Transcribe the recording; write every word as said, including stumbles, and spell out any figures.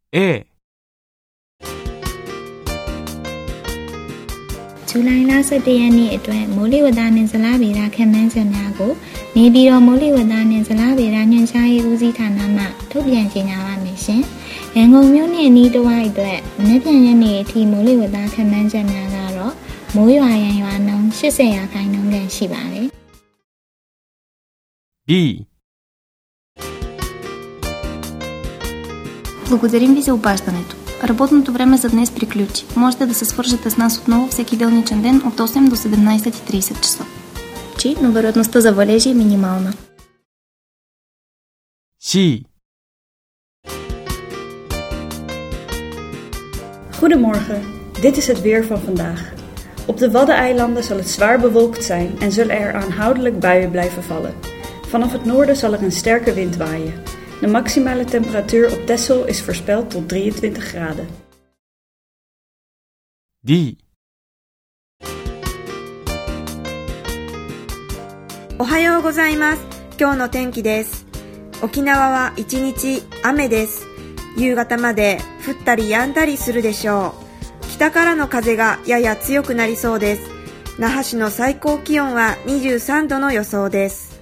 A ဇူလိုင်လဆယ့်တစ်ရက်နေ့အတွက်မိုးလေဝသနဲ့ဇလဗေဒခန့်မှန်းချက်များကိုနေပြည်တော်မိုးလေဝသနဲ့ဇလဗေဒညွှန်ကြားရေးဦးစီးဌာနမှထုတ်ပြန်ကြေညာပါမယ်ရှင်။ရန်ကုန်မြို့နယ်အနီးတစ်ဝိုက်အတွက်မနက်ဖြန်ရက်နေ့အထိမိုးလေဝသခန့်မှန်းချက်များကတော့မိုးရွာရန်ရွာနှုန်း၈၀ရာခိုင်နှုန်းခန့်ရှိပါတယ်။ B Благодарим ви за обаждането. Работното време за днес приключи. Можете да се свържете с нас отново всеки делничен ден от осем до седемнайсет и трийсет часа. Чи, но вероятността за валежи е минимална. C Goedemorgen, dit is het weer van vandaag. Op de Waddeneilanden zal het zwaar bewolkt zijn en zullen er aanhoudelijk buien blijven vallen. Vanaf het noorden zal er een sterke wind waaien. De maximale temperatuur op Texel is voorspeld tot drieëntwintig graden. D おはようございます。今日の天気です。沖縄は一日雨です。夕方まで降ったり止んだりするでしょう。北からの風がやや強くなりそうです。那覇市の最高気温はにじゅうさんどの予想です。